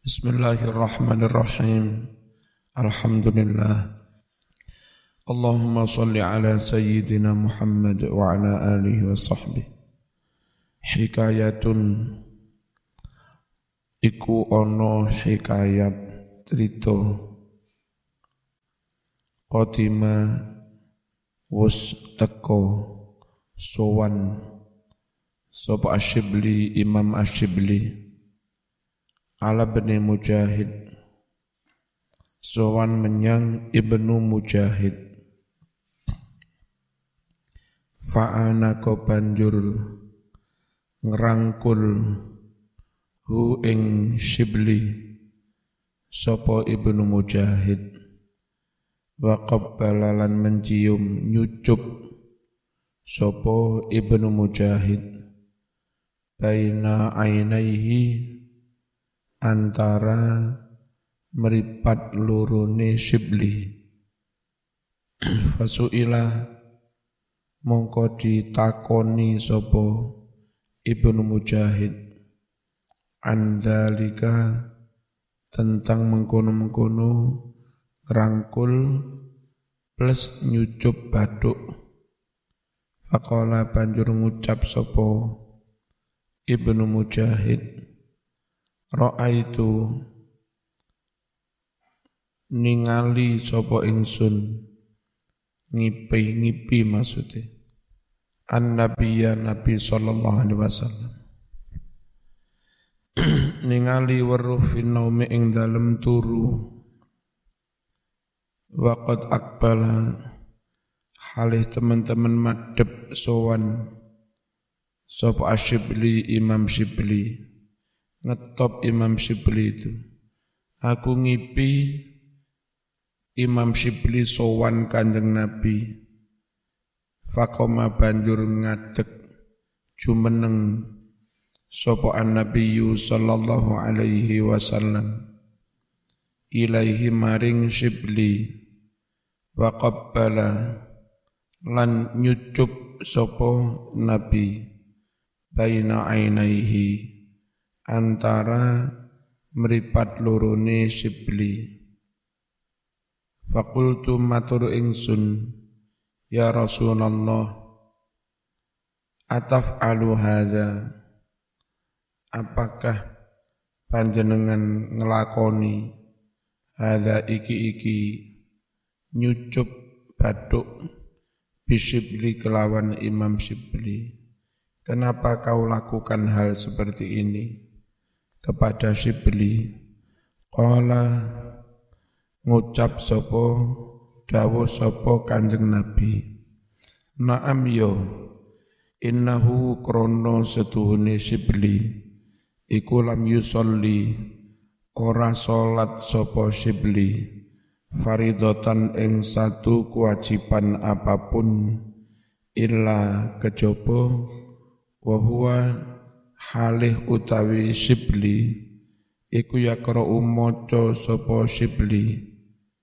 Bismillahirrahmanirrahim. Alhamdulillah. Allahumma salli ala sayyidina Muhammad wa ala alihi wa sahbihi. Hikayatun iku ono hikayat cerita qadima wus teko sowan sapa Asyibli Imam Asyibli ala bin Mujahid sowan menyang Ibnu Mujahid fa'ana ko banjur ngerangkul hu ing Syibli sapa Ibnu Mujahid wa qabbala lan mencium nyucup sapa Ibnu Mujahid baina ainaihi antara meripat lurune Syibli. Fasuila mongko ditakoni sapa Ibnu Mujahid an dzalika tentang mengkono-mengkono rangkul plus nyucup bathuk. Faqala banjur ngucap sapa Ibnu Mujahid ra'aitu ningali sapa ingsun ngipi maksudnya an-nabiyya nabi sallallahu alaihi wasallam ningali weruh finnaumi ing dalem turu waqad aqbala halih teman-teman madhep sowan sapa Asyibli Imam Syibli ngetop Imam Syibli itu. Aku ngipi Imam Syibli sowan Kanjeng Nabi. Faqoma banjur ngadeg jumeneng sapa an-nabiyyu sallallahu alaihi wasallam ilaihi maring Syibli wa qabbala lan nyucup sapa Nabi baina ainaihi antara meripat lorone Syibli. Faqultu matur ingsun ya Rasulullah ataf'alu hadza apakah panjenengan ngelakoni hadza iki nyucup bathuk bisyibli kelawan Imam Syibli. Kenapa kau lakukan hal seperti ini kepada Syibli? Qala ngucap sapa dawuh sapa Kanjeng Nabi na'am yo innahu krono setuhune Syibli iku lam yusolli ora salat sapa Syibli faridatan ing satu kewajiban apapun illa kejaba wa huwa halih utawi Syibli iku yaqra'u maca sapa Syibli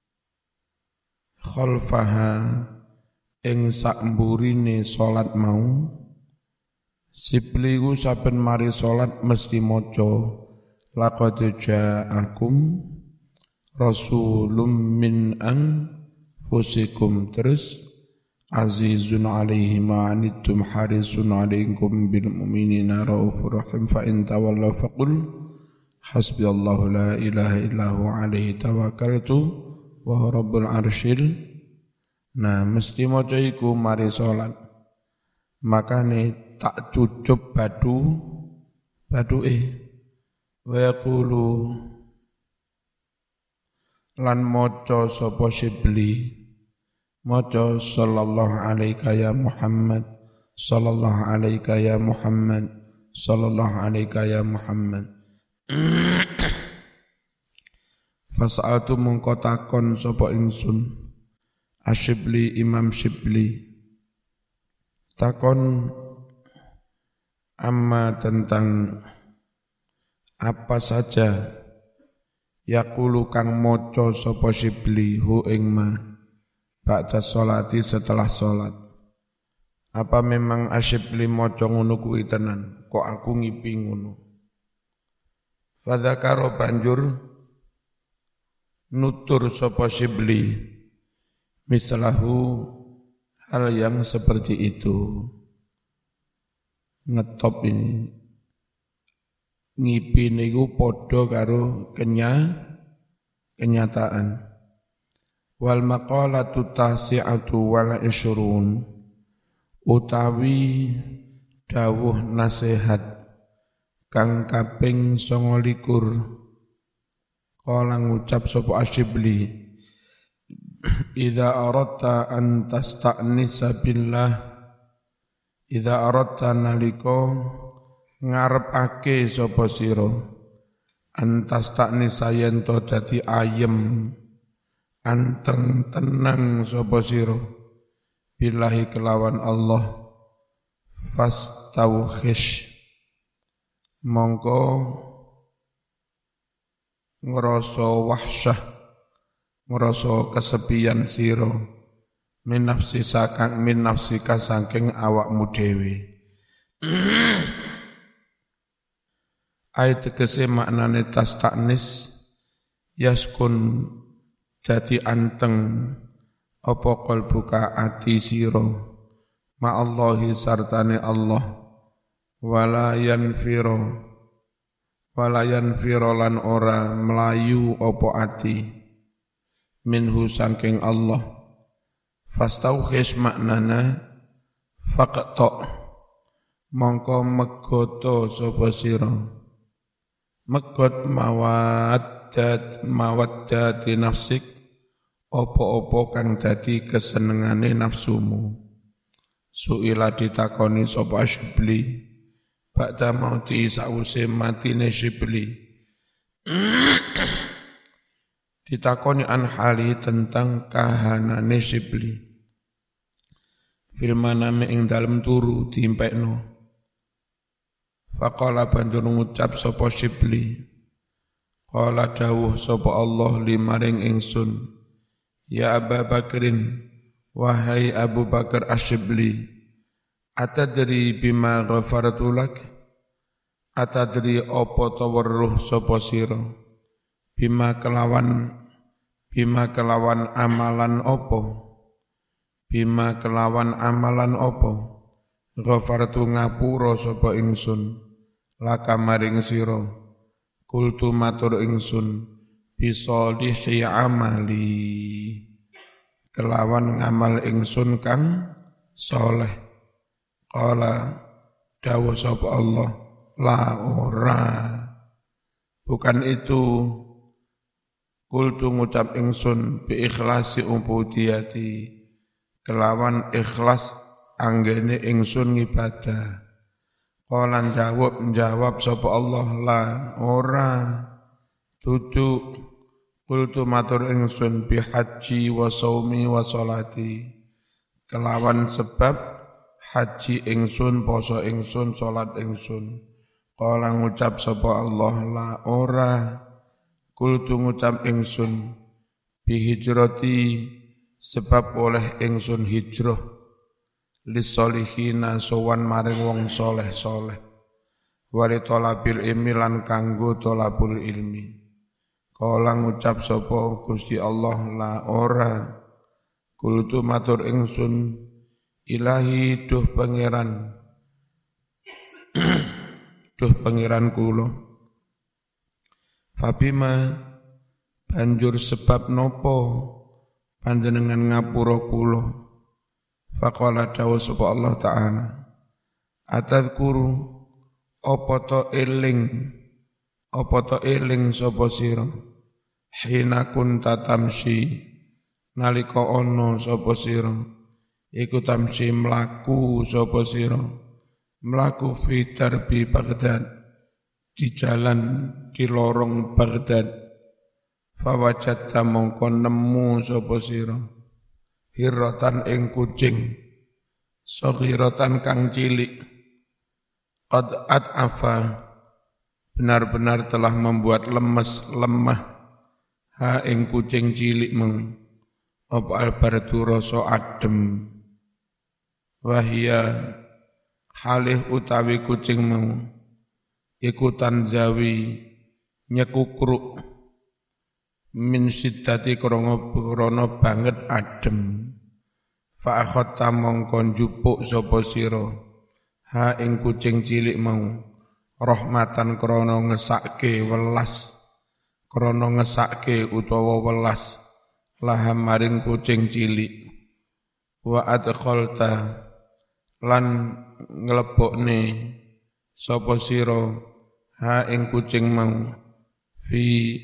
khalfaha ing sakmburine salat mau. Syibli ku saben mari salat mesti maca laqad ja'akum rasulun min anfusikum terus azizun alaihi ma anittum harisun alaikum bil mu'minina raufur rahim fa in tawallaw faqul hasbiyallahu la ilaha illa huwa alaihi tawakkaltu wa huwa rabbul arsyil. Nah mesti maca iku mari salat makane tak cucup bathuke wa yaqulu lan maca sapa Syibli maca sallallahu alaika ya Muhammad sallallahu alaika ya Muhammad sallallahu alaika ya Muhammad. Fasa'atu mongko takon sapa ingsun Asyibli Imam Syibli takon amma tentang apa saja yaqulu kang maca sapa Syibli hu ing ma ba'da sholati setelah sholat. Apa memang Asyibli maca ngono kuwi tenan? Kok aku ngipi ngono? Fadzakaro banjur nutur sapa Syibli mislahu hal yang seperti itu. Ngetop ini ngipi niku padha karo kenyataan. Wal maqalatu tasi'atu wal isyrun utawi dawuh nasihat kang kaping 29 kala ngucap sapa Asyibli idza aradta an tasta'nisa billah idza aradta nalika ngarepake sapa sira antas taknisa yen to dadi ayem anteng tenang sapa sira billahi kelawan Allah fastauhish mongko ngrasa wahsyah ngrasa kesepian sira min nafsi saking awakmu dhewe. Ayat tegese maknane tastaknis yaskun dadi anteng apa qalbuka ati sira ma Allahi sartane Allah wala yanfiro lan ora melayu apa ati minhu saking Allah. Fastaukhis maknana faqta mongko megoto sapa sira megot mawaddati nafsik opo-opo kang dadi kesenengane nafsumu. Suila ditakoni sapa Syibli ba'da mauti sause matine Syibli ditakoni an hali tentang kahanane Syibli fil manami ing dalem turu diimpekno. Faqala banjur ngucap sapa Syibli qala dawuh sapa Allah limaring ingsun ya Abu Bakrin wahai Abu Bakar Asyibli atadri bima ghafartu lak atadri apa ta weruh sapa sira bima kelawan amalan apa ghafartu ngapura sapa ingsun laka maring sira kultu matur ingsun bisolihi amali kelawan ngamal ingsun kang soleh. Qala dawuh sapa Allah la ora bukan itu kultu ngucap ingsun bi ikhlasi ubudiyati kelawan ikhlas anggene ingsun ngibadah. Qala jawab sapa Allah la ora dudu kultu matur ingsun bi haji wa shaumi wa sholati kelawan sebab haji ingsun poso ingsun salat ingsun. Qala ngucap sapa Allah la ora kultu ngucap ingsun bi hijrati sebab oleh ingsun hijrah lissolihina sowan maring wong soleh-soleh wali tolabil ilmi lan kanggo tolabul ilmi. Kala ngucap sapa Gusti Allah la ora kultu matur ingsun ilahi duh pangeran kula fabima banjur sebab nopo panjenengan ngapura kula. Faqala dawuh sapa Allah Ta'ala atadkuru apa to eling sapa sira hina kunta tamsi nalika ana sapa sira iku tamsi mlaku sapa sira mlaku fi darbi Baghdad di jalan di lorong Baghdad fawajatta mongko nemu sapa sira hirratan ing kucing saghiratan kang cilik qad at'afa benar-benar telah membuat lemah ha ing kucing cilik meng apa albaratu rasa adem wahia halih utawi kucing mau ikutan zawi nyekukruk min siddati krana banget adem fa akhatta mongko njupuk sapa sira ha ing kucing cilik mau rahmatan krana ngesake welas krana ngesake utawa welas laha maring kucing cilik wa adkhalta lan nglebokne sapa sira ha ing kucing mau fi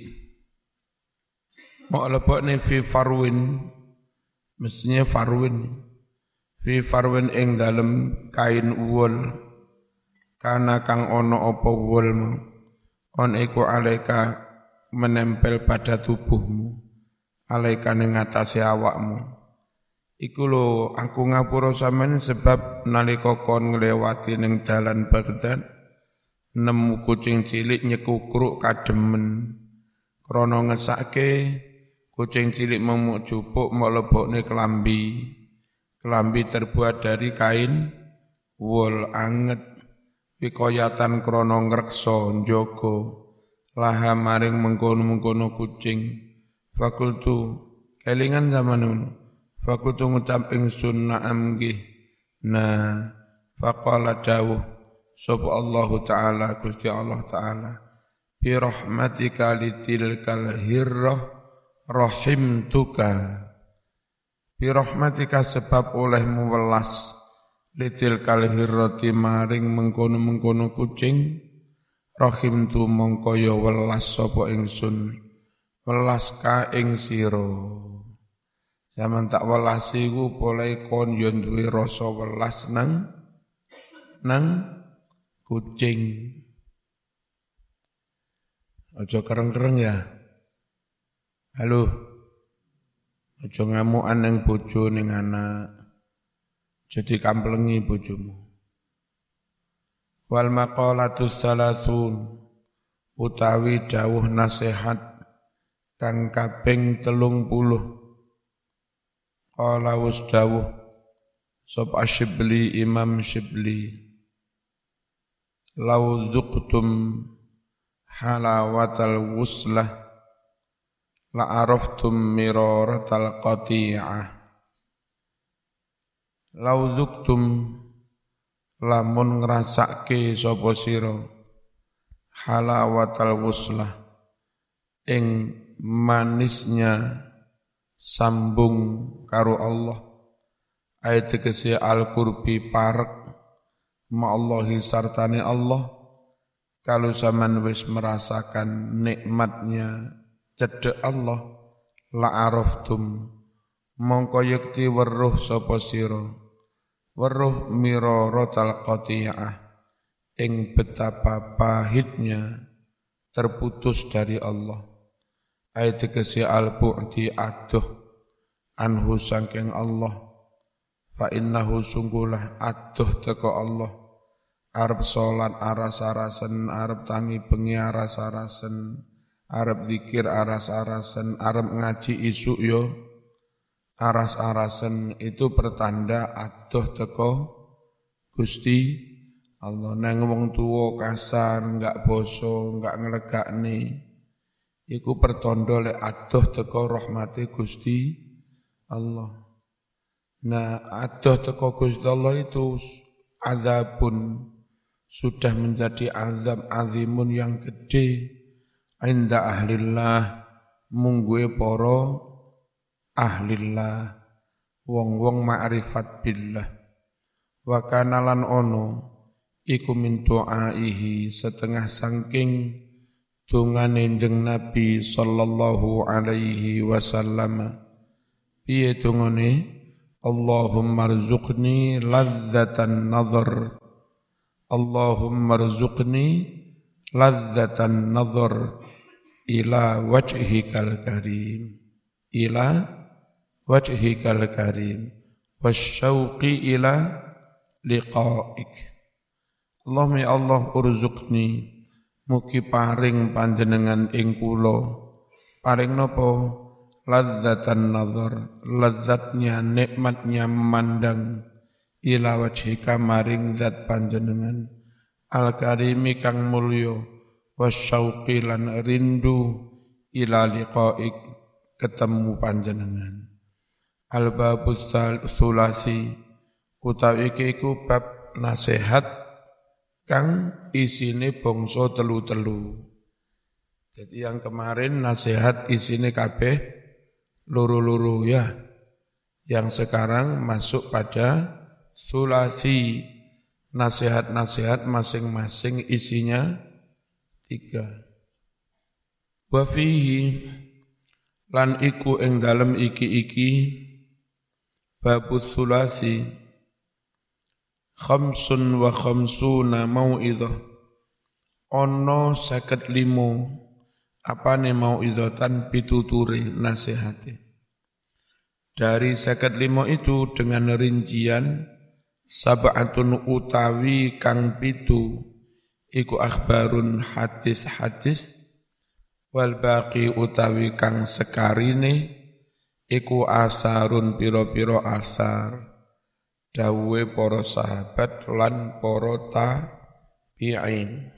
mau lebokne fi farwin mestinya farwin fi farwin ing dalem kain uwul kana kang ana apa uwulmu on iku alaika menempel pada tubuhmu alaika ning ngatasé awakmu iku lho aku ngapura sampean sebab nalika kon nglewati ning dalan Baghdad nemu kucing cilik nyekukruk kademen krana ngesake kucing cilik memuk jupuk mlebokne kelambi terbuat dari kain wol anget wikoyatan krana ngreksa njaga laha maring mengkono-mengkono kucing fakultu kelingan zaman ngono fakultu ngucap ingsun na'am nggih nah faqala dawuh sapa Allah taala Gusti Allah taala bi rahmatika litilkal hirrah rahimtuka bi rahmatika sebab olehmu welas litilkal hirrati maring mengkono-mengkono kucing rahimtu mongko ya welas sapa ingsun welas ka ing sira zaman tak welasi ku poleh kon yo duwe rasa welas nang kucing. Ojo kereng-kereng ya. Halo. Ojo ngamukan ning bojo ning anak. Jadi kamplengi bojomu. Wal maqalatus salasun utawi dawuh nasihat kang kaping 30. Qala wasdawuh sab Asyibli Imam Syibli law dhuqtum halawatal wuslah la araftum miraratal qati'ah law dhuqtum lamun ngrasake sapa sira halawatal wuslah ing manisnya sambung karo Allah ayat tegese al-qurbi parek ma'allahi sartani Allah kalau zaman wis merasakan nikmatnya cedek Allah la araftum mongko yekti weruh sapa sira weruh miraratal qati'ah ing betapa pahitnya terputus dari Allah ayat tegese al-bu'di aduh anhu saking Allah fa innahu sungguhlah aduh teko Allah arep salat aras-arasen arep tangi bengi aras-arasen arep zikir aras-arasen arep ngaji isuk yo aras-arasen itu pertanda aduh teko Gusti Allah nang wong tuwa kasar enggak boso enggak nglegakne iku pertanda lek aduh teko rahmate Gusti Allah. Nah, aduh teko Gusti Allah itu azabun sudah menjadi azab azimun yang gede inda ahlillah mungguhe para ahlillah wong-wong ma'rifat billah wa kana lan ono iku min du'aihi setengah saking dungane jeneng Nabi sallallahu alaihi wasallam piye dungane Allahumma rzuqni ladzatan nazar Allahumma rzuqni ladzatan nazar ila wajhikal karim ila wajhikal karim wasyauqi ila liqa'ik Allahumma ya Allah urzuqni mugi paring panjenengan ing kula paring napa ladzatan nazar lezatnya nikmatnya memandang ila wajhika maring zat panjenengan al karimi kang mulya wasyauqi lan rindu ila liqa'ik ketemu panjenengan. Al-babus tsulasi utawi iku bab nasihat kang isine bangsa telu-telu. Jadi yang kemarin nasihat isine kabeh loro-loro ya. Yang sekarang masuk pada tsulasi, nasihat-nasihat masing-masing isinya 3. Wa fihi lan iku ing dalem iki babus tsulasi khamsun wa khamsuna mau'izah ono 55 apane mau'izatan pituture nasihate. Dari 55 itu dengan rincian sab'atun utawi kang pitu iku akhbarun hadis-hadis wal baqi utawi kang sekarine iku asarun piro-piro asar dawuhe para sahabat lan para tabi'in.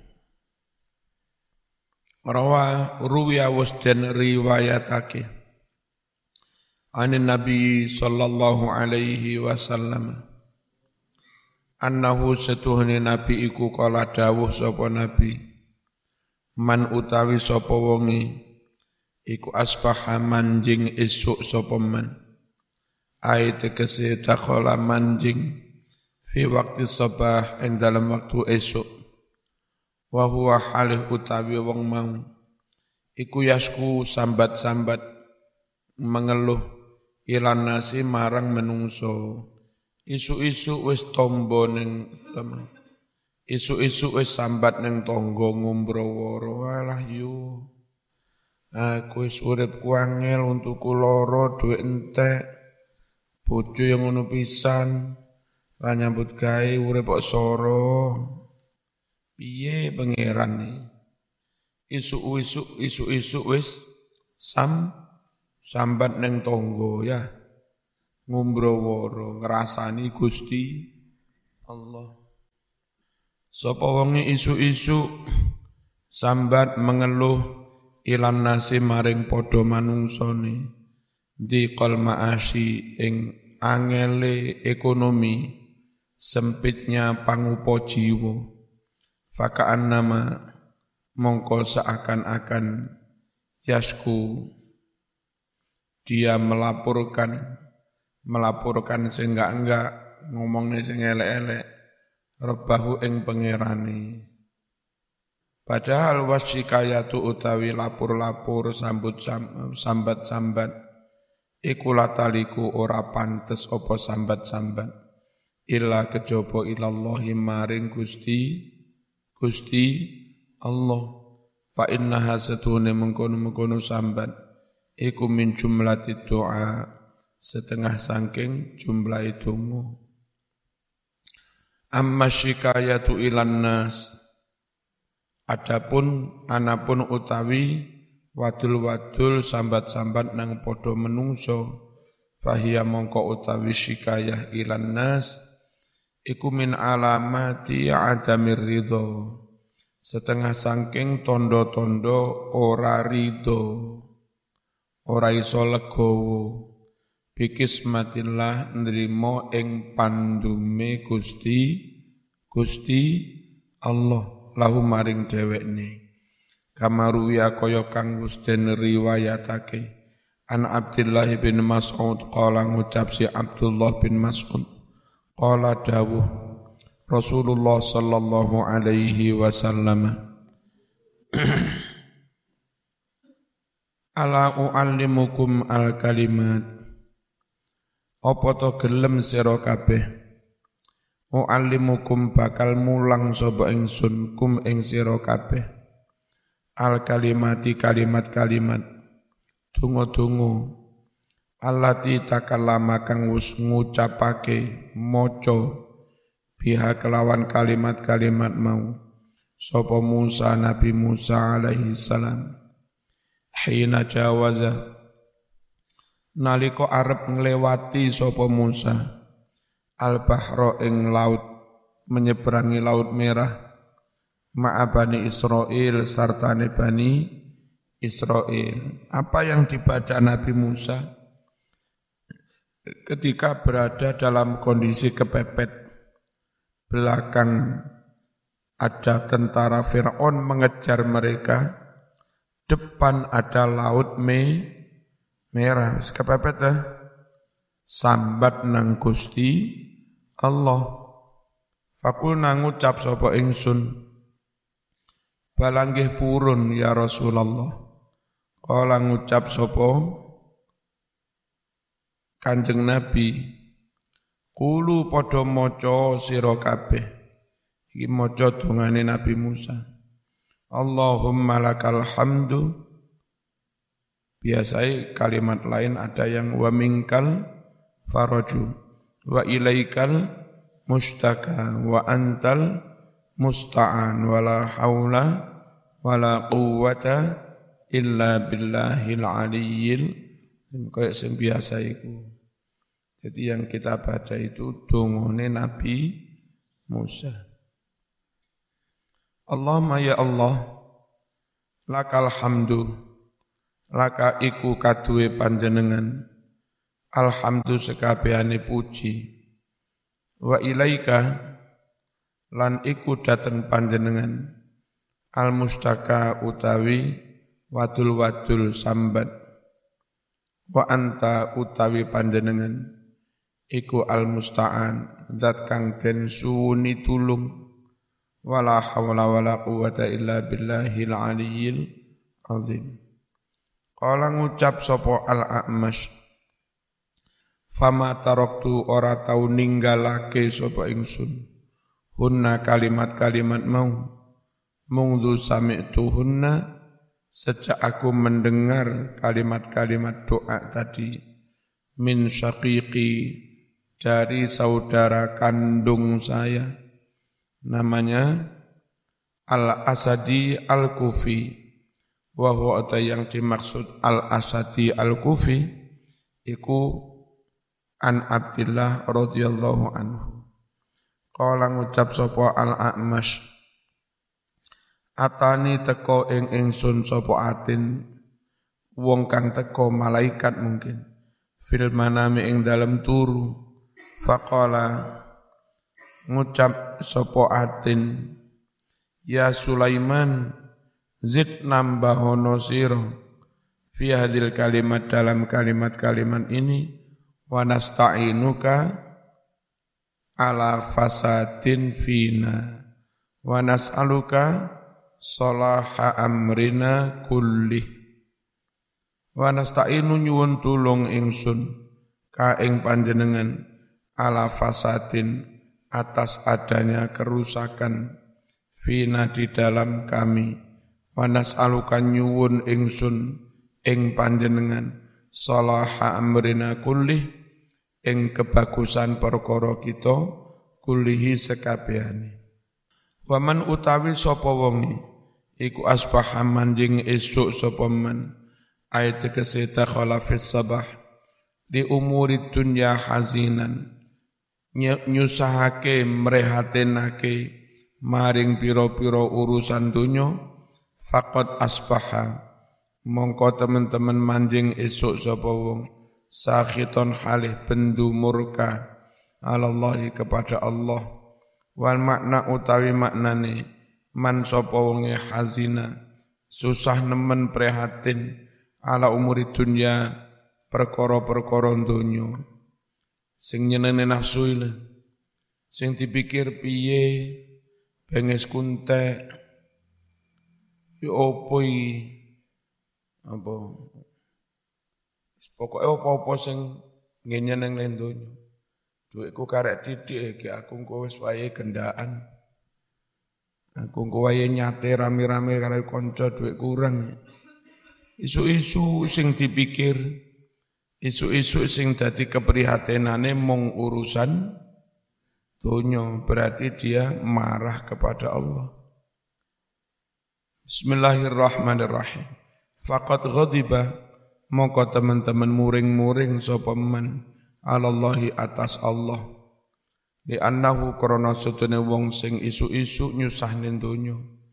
Ruwiya wasdan riwayatake anin Nabi sallallahu alaihi wasallam annahu setuhne Nabi iku kala dawuh sapa Nabi man utawi sapa wonge iku asbaha manjing esuk sapa man ai tegese takhala manjing fi waqti sabah ing dalam waktu esuk wa huwa halih utawi wong mau iku yasku sambat-sambat mengeluh ilan nasi marang menungso. Isu-isu wis tombo ning isu-isu wis sambat ning tangga ngumbrawara walah yu aku wis urip kuangel untuk lara dhuwit entek bojo yang ngono pisan ra nyambut gawe urip kok soro piye pangeran isu-isu wis sambat ning tangga ya ngumbrawara ngrasani Gusti Allah. Sapa wonge isu-isu sambat mengeluh ilan nasi maring padha manungsane diqal ma'asyi ing angele ekonomi sempitnya pangupa jiwa fakaan nama mongko seakan-akan yasku dia melaporkan sing enggak ngomongne sing elek-elek rebahu ing pangerane. Padahal wasyikayatu utawi lapur-lapur sambat-sambat iku lataliku ora pantes apa sambat-sambat illa kejaba ilallahi maring Gusti Allah. Fa innaha satune mengkono-mengkono sambat iku min jumlati doa setengah sangking jumlah donga. Amma syikayatu ilan nas adapun anapun utawi wadul-wadul sambat-sambat nang padha menungso fahiya mongko utawi syikayah ilan nas iku min alamati adamir ridho setengah sangking tondo-tondo ora ridho ora iso legowo bikismatillah nrimo ing pandume Gusti Allah lahu maring dhewekne kamaruya kaya kang wis den riwayatake an Abdullah bin Mas'ud qala ngucap si Abdullah bin Mas'ud qala dawuh Rasulullah sallallahu alaihi wasallam ala uallimukum al kalimat apa to gelem sira kabeh u'allimukum bakal mulang sapa ingsun kum ing sira kabeh al kalimati kalimat-kalimat donga-donga allati takallama kang wis ngucapake maca biha kelawan kalimat-kalimat mau sapa Musa Nabi Musa alaihi salam hina jawaza nalika arep nglewati sapa Musa al-bahra ing laut menyeberangi laut merah ma'a Bani Israil sartane Bani Israil. Apa yang dibaca Nabi Musa ketika berada dalam kondisi kepepet, belakang ada tentara Fir'aun mengejar mereka, depan ada laut merah, kepepet sambat nang Gusti Allah. Fakulna ngucap sapa ingsun, balanggih purun ya Rasulullah. Kala ngucap sapa Kanjeng Nabi, kulu padha maca sira kabeh. Iki maca dongane Nabi Musa. Allahumma lakal hamdu. Biasanya kalimat lain ada yang wa minkal faraju wa ilaikal mustaka wa antal musta'an wala haula wala quwwata illa billahil aliyyil. Kayak sing biasa iku. Jadi yang kita baca itu dongane Nabi Musa. Allahumma ya Allah, lakal hamdu, laka iku kaduwe panjenengan, alhamdu sekabehane puji, wa ilaika lan iku dateng panjenengan, al mustaka utawi wadul sambat, wa anta utawi panjenengan, iku al-musta'an, zat kang den suwuni tulung, wala hawla wala quwata illa billahil aliyyil azim. Kala ngucap sapa al-A'mash, fama taraktu ora tau ninggalake sapa ingsun, hunna kalimat-kalimat mau, mungdu sami'tuhunna, sejak aku mendengar kalimat-kalimat doa tadi, min syaqiqi, dari saudara kandung saya, namanya Al-Asadi Al-Kufi, wa huwa yang dimaksud Al-Asadi Al-Kufi, iku an Abdillah radhiyallahu anhu. Kala ngucap sapa Al-A'mash, atani teko ing ingsun sapa atin, wong kang teko malaikat mungkin, fil manami ing dalem turu. Faqala ngucap sapa atin, ya Sulaiman, zid nambahono sira fi hadil kalimat, dalam kalimat-kalimat ini, wa nasta'inuka ala fasadin fina wa nas'aluka salaha amrina kullih. Wa nasta'inu nyuwun tulung ingsun ka ing panjenengan ala fasadin, atas adanya kerusakan, fina di dalam kami, wa nas'aluka nyuwun ingsun ing panjenengan salaha amrina kullih, ing kebagusan perkara kita, kullihi sekabehane. Waman utawi sapa wonge iku asbaha manjing esuk sapa man, ayat tegese takhala fis sabah di umuri dunya hazinan, nyusahake mrehatenake maring pira-pira urusan dunya, faqad asbaha mongko teman-teman manjing esuk sapa wong, sakhiton halih bendu murka alallahi kepada Allah, wal makna utawi maknane man sapa wonge hazina susah nemen prihatin ala umuri dunya perkara-perkara donya, sing nyenene nafsu ile, sing dipikir piye benges kuntek yo opo iki apa pokoke apa-apa sing ngenyen ning donya. Dhuwitku karek didik iki, aku engko wis wayahe gendaan. Aku engko wayahe nyate rame-rame karo kanca, dhuwit kurang. Isu-isu sing dipikir, isu-isu sing dadi keprihatinane mung urusan donya, berarti dia marah kepada Allah. Bismillahirrahmanirrahim. Faqad ghadiba, mongko teman-teman muring-muring sapa man alallahi atas Allah, li annahu krana sedene wong sing isu-isu nyusahne donya,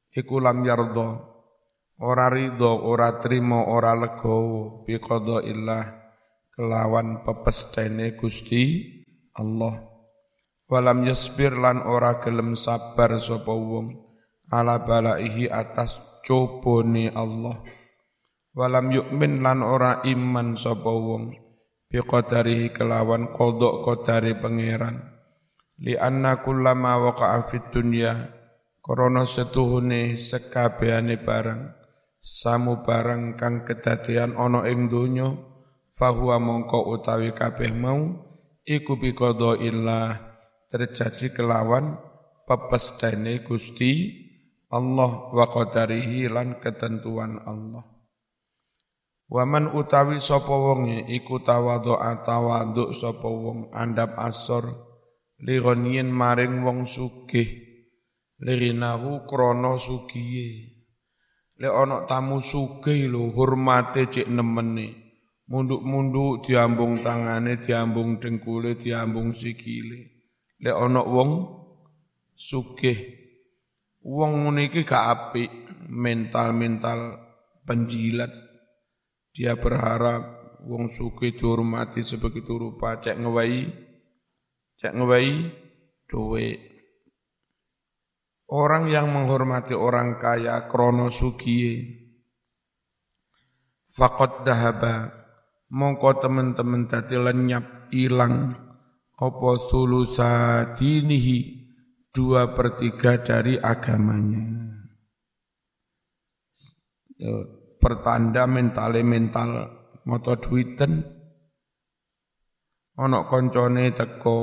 iku lam yardo ora ridho ora trimo ora legowo bi qadaillah kelawan pepestene Gusti Allah. Walam yasbir lan ora gelem sabar sapa wong ala balaihi atas cobone Allah. Walam yu'min lan ora iman sapa wong bi qadarihi kelawan qada qadare pangeran. Li anna kullama waqa'a fid dunya krana setuhune sekabehane barang samu barang kang kedadean ana ing donya fahuwa mongko utawi kabeh mau iku bi qadaillah terjadi kelawan pepestane Gusti Allah wa qadarihi lan ketentuan Allah. Waman utawi sapa wonge iku tawadhu sapa wong andap asor li ghaniyin maring wong sugih lirinahu krana sugiye. Lek ana tamu sugih lho hormate cek nemene munduk-munduk diambung tangane diambung dengkule diambung sikile. Lek ana wong sugih, wong ngene iki gak apik, mental penjilat. Dia berharap wong sugih dihormati sebegitu rupa, cek ngewehi duit. Orang yang menghormati orang kaya krono sugiye, faqad dahaba, mongko teman-teman dadi lenyap ilang. Apa sulusa dinihi 2/3 dari agamanya. Pertanda mental moto duiten ana koncone teko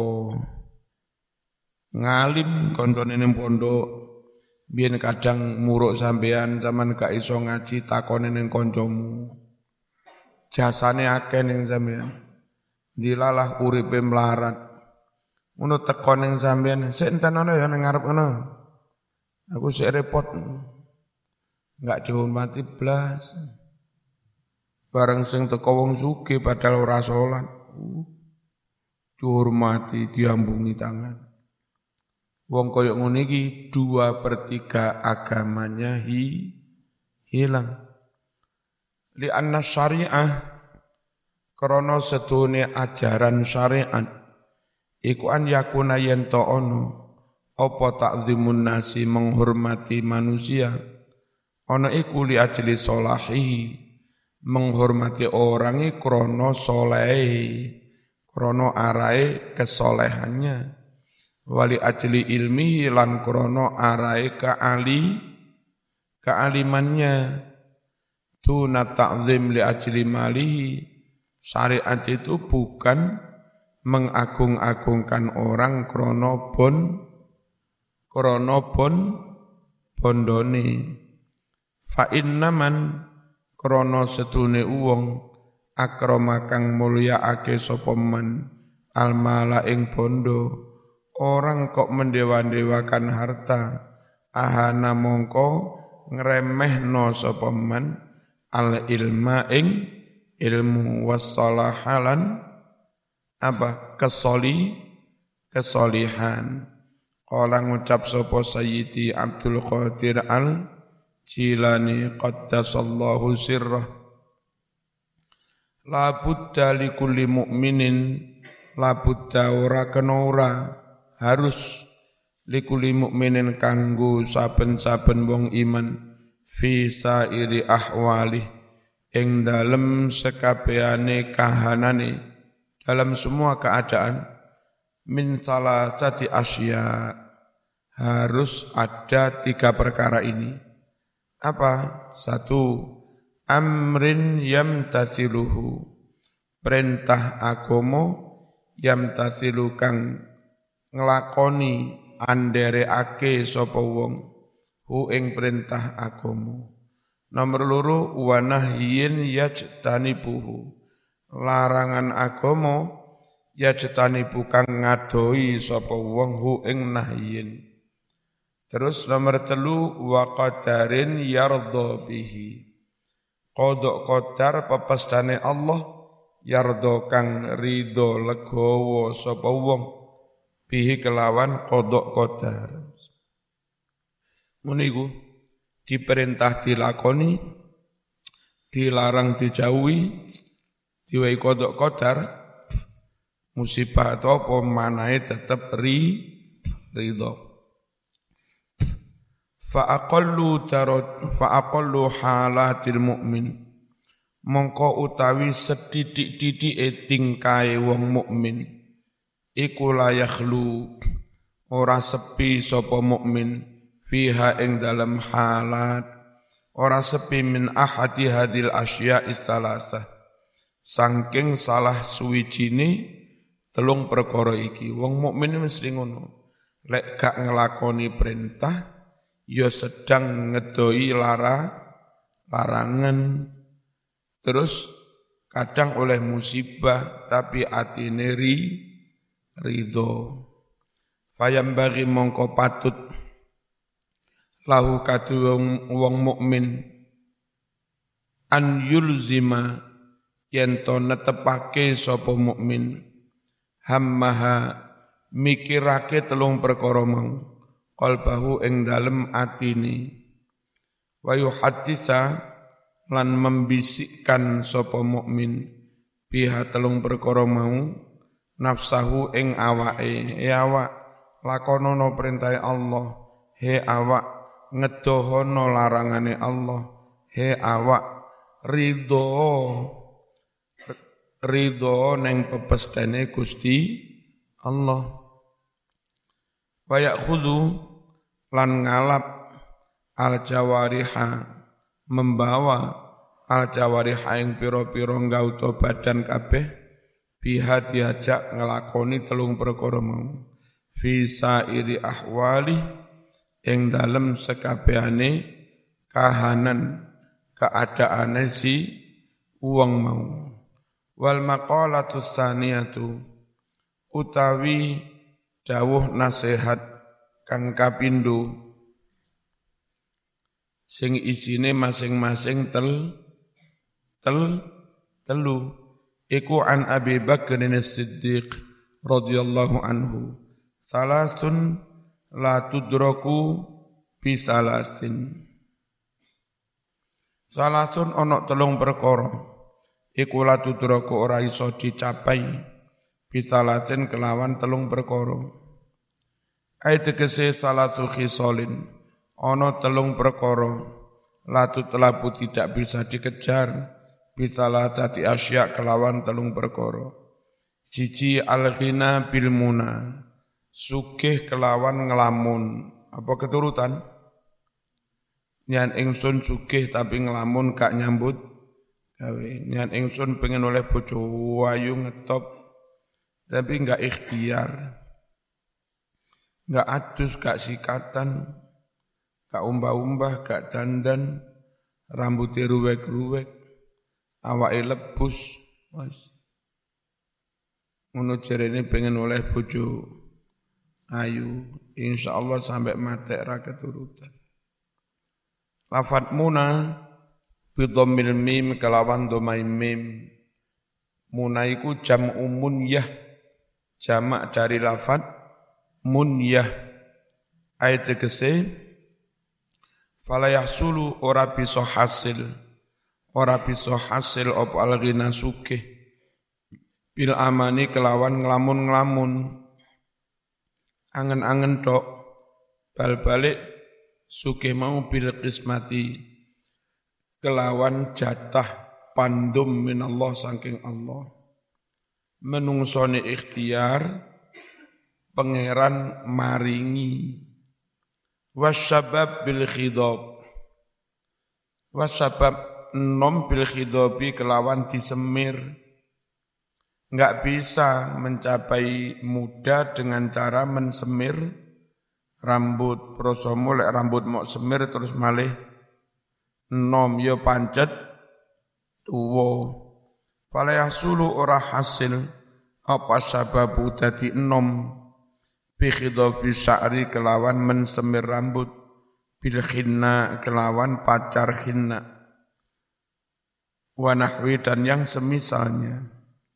ngalim koncone ning pondok biyen kadang muruk sampean zaman gak iso ngaji takone ning kancamu jasane akeh ning sampean dilalah uripe melarat. Ngono teko ning sampean, sik enten ana ya ning ngarep ngono. Aku sik repot. Enggak dihormati blas. Bareng sing teko wong sugih padahal ora salat. Dihormati, diambungi tangan. Wong koyo ngene iki 2/3 agamanya hilang. Li anna syariah krana sedune ajaran syariat iku an yakuna yen to ono apa takzimun nasi menghormati manusia ono iku li ajli solahihi menghormati orang krana solehi krana arae kesolehannya wali ajli ilmihi lan krana arae kealimannya tuna ta'zim li ajli malihi. Syariat itu bukan mengagung-agungkan orang bondone. Fa innaman krana sedune wong akrama kang mulyaake sapa man almala ing bondo. Orang kok mendewa-dewakan harta ahana mongko ngremehno sapa man al ilma ing ilmu wassalahalan apa kesolihan. Qala ngucap sapa Sayyidi Abdul Qadir Al-Jilani qaddasallahu sirrah la budda li kulli mu'minin la budda ora kena ora harus li kulli mu'minin kanggo saben-saben wong iman fi sairi ahwalih ing dalem sekabehane kahanane dalam semua keadaan min salasati asya harus ada 3 perkara ini. Apa? 1 amrin yamtathiluhu perintah agama yamtathilu kang nglakoni andereake sapa wong hu ing perintah agama. Nomor 2 wa nahyin yajtanibuhu larangan agama yajtanibu kang ngadoi sapa wong hu ing nahyin. Terus nomor 3 wa qadarin yardha bihi qada qadar pepestane Allah yardha kang ridho legowo sapa wong bihi kelawan qada qadar. Muniku diperintah dilakoni, dilarang dijauhi, diwai kodok qadar, musibah atau apa manahe tetep ridho. Fa aqallu halatil mukmin, mongko utawi sedidik-didike tingkae wong mukmin iku la yakhlu ora sepi sapa mukmin fiha ing dalam halat ora sepi min ahadi hadil asya'i tsalasah saking salah suwijine telung perkara iki. Wong mukmin mesti ngono, lek gak nglakoni perintah ya sedang ngedoi larangan, terus kadang oleh musibah tapi atine ridho. Fayam bagi mongko patut lahu kadu wong mukmin an yulzima yen to netepake sapa mukmin hammaha mikirake telung perkara mau qalbahu ing dalem atine wa yuhaddisa lan membisikkan sapa mukmin biha telung perkara mau nafsahu ing awake, awak lakonono perintah Allah, awak ngedohono larangane Allah, awak ridho neng pepestane Gusti Allah. Wa ya'khudhu lan ngalap al-jawariha membawa al-jawariha ing pira-pira ngauta badan kabeh biha diajak ngelakoni telung perkara mau fi sairi ahwali ing dalem sekabehane kahanan keadaane si wong mau. Wal maqalatu tsaniyatu utawi dawuh nasihat kang kapindho sing isine masing-masing telu iku an Abi Bakr as-Siddiq radhiyallahu anhu salasun la tudraku bi salasin. Salasun ana telung perkara iku la tudraku ora iso dicapai bi salatin kelawan telung perkara. Ai tegese salatu khisalin ana telung perkara la tutlabu tidak bisa dikejar bisalah tati asya kelawan telung perkara. Siji al-ghina bil muna, sugih kelawan ngelamun. Apa keturutan? Nyan ingsun sugih tapi ngelamun gak nyambut gawe. Nyan ingsun pengen oleh bojo ayu ngetop tapi gak ikhtiar. Gak adus, gak sikatan, gak umbah-umbah, gak dandan, rambutnya ruwek-ruwek, awake lebus, wis. Ngono jarene pengen oleh bojo ayu, insyaallah sampai mati ra keturutan. Lafat muna bidhammil mim kelawan dhamai mim. Muna iku jam'u munyah, jamak dari lafat munyah. Ayat tegese fala yahsulu ora bisa hasil apa al-ghina sugih bil amani kelawan nglamun-nglamun angen-angen tok bal-balik sugih mau bil qismati kelawan jatah pandum minallah saking Allah menungsone ikhtiar pangeran maringi wasyabab bil khidab wasabab nom bil khidabi kelawan disemir. Enggak bisa mencapai muda dengan cara mensemir rambut. Prosomo lek rambut mau semir terus malih nom yo pancet tuwa. Fala yahsulu ora hasil apa sababu dadi nom bi khidabi sya'ri kelawan mensemir rambut bil khinna kelawan pacar khinna wa nahwi dan yang semisalnya.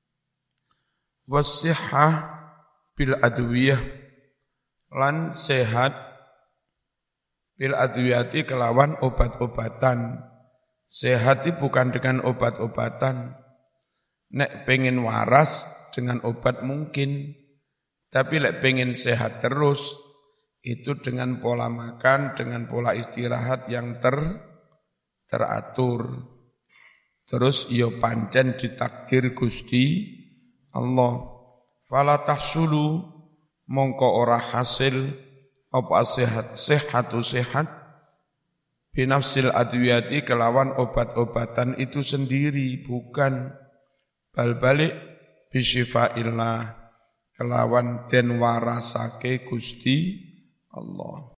Wasihah bil adwiyah lan sehat bil adwiyati kelawan obat-obatan. Sehat itu bukan dengan obat-obatan. Nek pengen waras dengan obat mungkin, tapi nek pengen sehat terus, itu dengan pola makan, dengan pola istirahat yang teratur. Terus yo pancen ditakdir Gusti Allah. Fala tahsulu mongko ora hasil apa sehat binafsil adwiyati kelawan obat-obatan itu sendiri, bukan bal-balik bisyifaillah kelawan den warasake Gusti Allah.